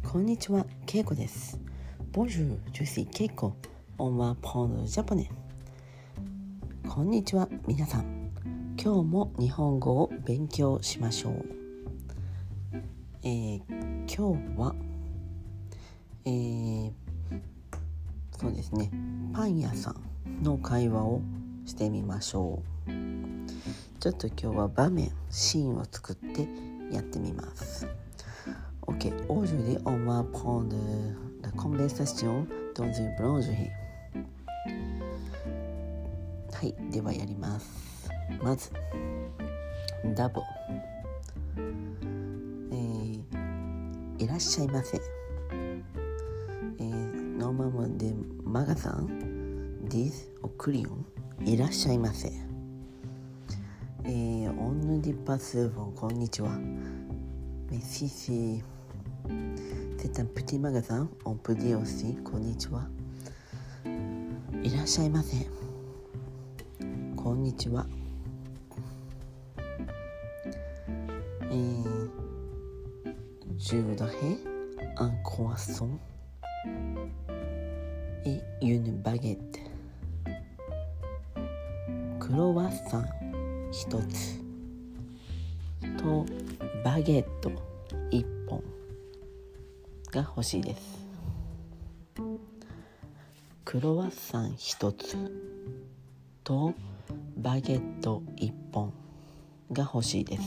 こんにちは、ケイコです。Bonjour, je suis Keiko. On va prendre japonais. こんにちは、皆さん。今日も日本語を勉強しましょう。今日は、そうですね、パン屋さんの会話をしてみましょう。ちょっと今日は場面、シーンを作ってやってみます。Ok, aujourd'hui on va prendre la conversation dans une boulangerie. はい、ではやります。まず、ダボ、いらっしゃいませ。Normalement des magasins disent au client いらっしゃいませ。On ne dit pas souvent こんにちは。Mais si c'est un petit magasin, on peut dire aussi こんにちは。いらっしゃいませ。こんにちは。Je voudrais un croissant et une baguette. クロワッサン一つとバゲット一本が欲しいです。クロワッサン一つとバゲット一本が欲しいです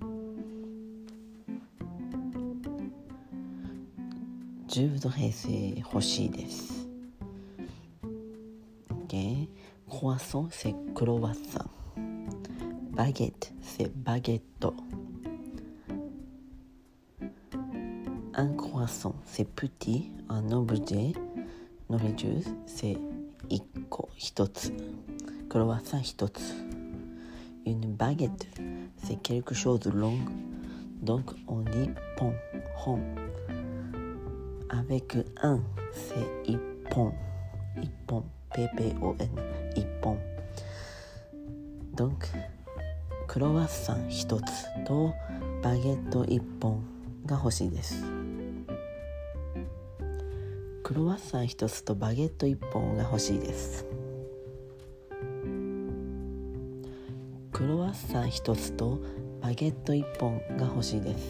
。Je voudrais c'est 欲しいです。Okay. Croissant c'est croissant. Baguette c'est baguette. Un croissant c'est petit. Un objet nourriture c'est 一個一つ。クロワッサン一つ。Une baguette c'est quelque chose de long. Donc on dit pont, rond. Avec un c'est 一本。一本。P-P-O-N 一本。Donc クロワッサン一つとバゲット一本が欲しいです。クロワッサン一つとバゲット一本が欲しいです。クロワッサン一つとバゲット一本が欲しいです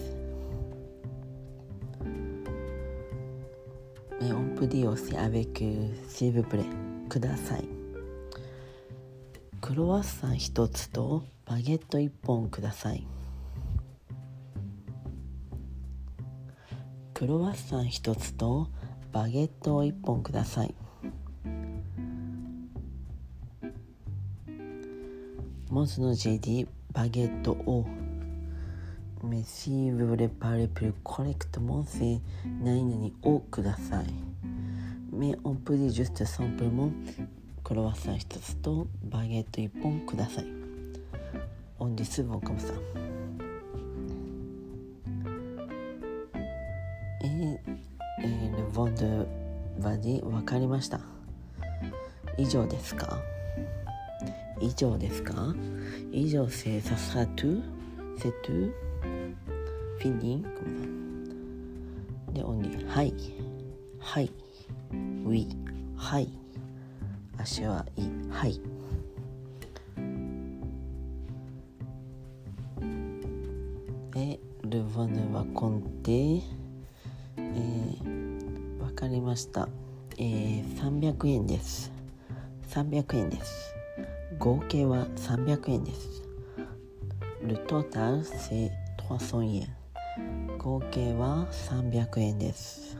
。Mais on peut dire aussi avec s'il vous plaît ください。クロワッサン一つとバゲット一本ください。クロワッサン一つとバゲット一本ください。Moi j'ai dit baguette au. Mais si vous voulez parler plus correctement, c'est 何々をください。Mais on peut dire juste simplement クロワッサン一つとバゲット一本ください。On dit souvent comme ça. Et le vendeur va dire わかりました。以上ですか？以上ですか？以上 c'est ça sera tout? C'est tout? Fini? Comme ça. Et on dit はい。はい。Oui。はい。足はいい。はい。Et le vendeur va compter。わかりました。300円です。300円です。合計は300円です。Le total c'est 300円。合計は300円です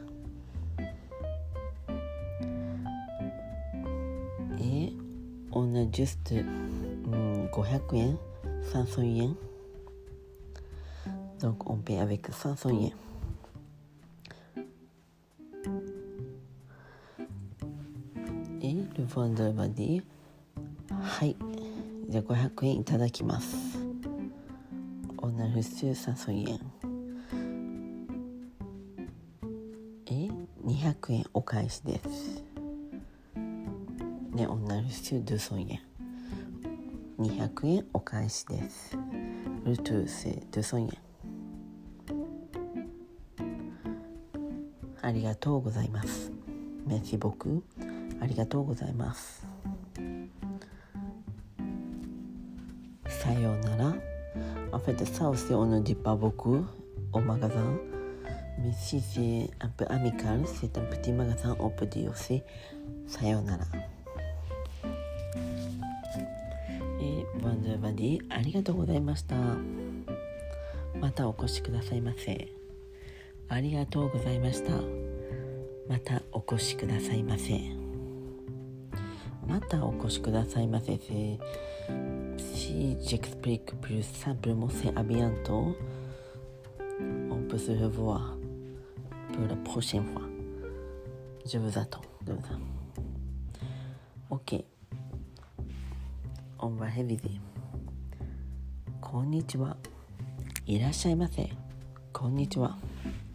。Et on a juste 500円、500円。Donc on paie avec 500円。Et le vendeur va dire はい、じゃあ500円いただきます。On a reçu 500円。200円お返しです。で、on a reçu 200円。200円お返しです。Le tout c'est 200円。 ありがとうございます。Merci beaucoup ありがとうございます。さようなら。En fait, ça aussi, on ne dit pas beaucoup au magasin. Mais si c'est un peu amical, c'est un petit magasin, on peut dire aussi さようなら。Vendredi ありがとうございました。またお越しくださいませ。ありがとうございました。またお越しくださいませ。またお越しくださいませ。Si j'explique plus simplement, c'est à bientôt. On peut se revoir pour la prochaine fois. Je vous attends. Ok. On va réviser. こんにちは。いらっしゃいませ。こんにちは。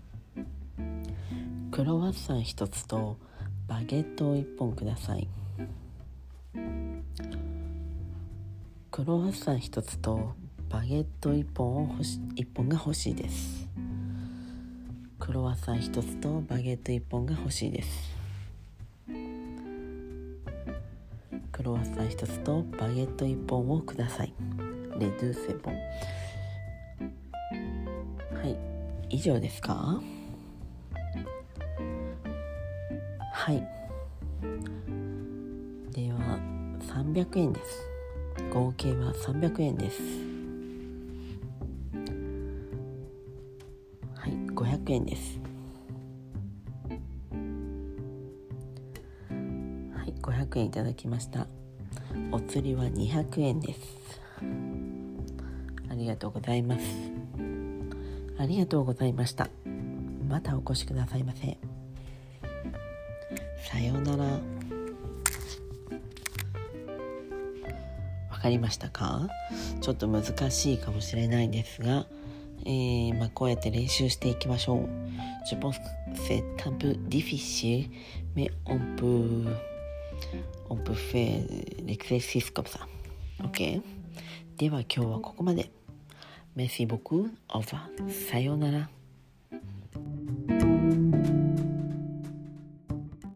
クロワッサン1つとバゲットを1本ください。クロワッサン1つとバゲット1本が欲しいです。クロワッサン1つとバゲット1本が欲しいです。クロワッサン1つとバゲット1本をください。レドゥセボン。はい、以上ですか？はい。では300円です。合計は300円です。はい、500円です。はい、500円いただきました。お釣りは200円です。ありがとうございます。ありがとうございました。またお越しくださいませ。さようなら。わかりましたか？ちょっと難しいかもしれないんですが、こうやって練習していきましょう。Je pense que c'est un peu difficile, mais on peut faire l'exercice comme ça. OK? では今日はここまで。Merci beaucoup. Au revoir. さようなら。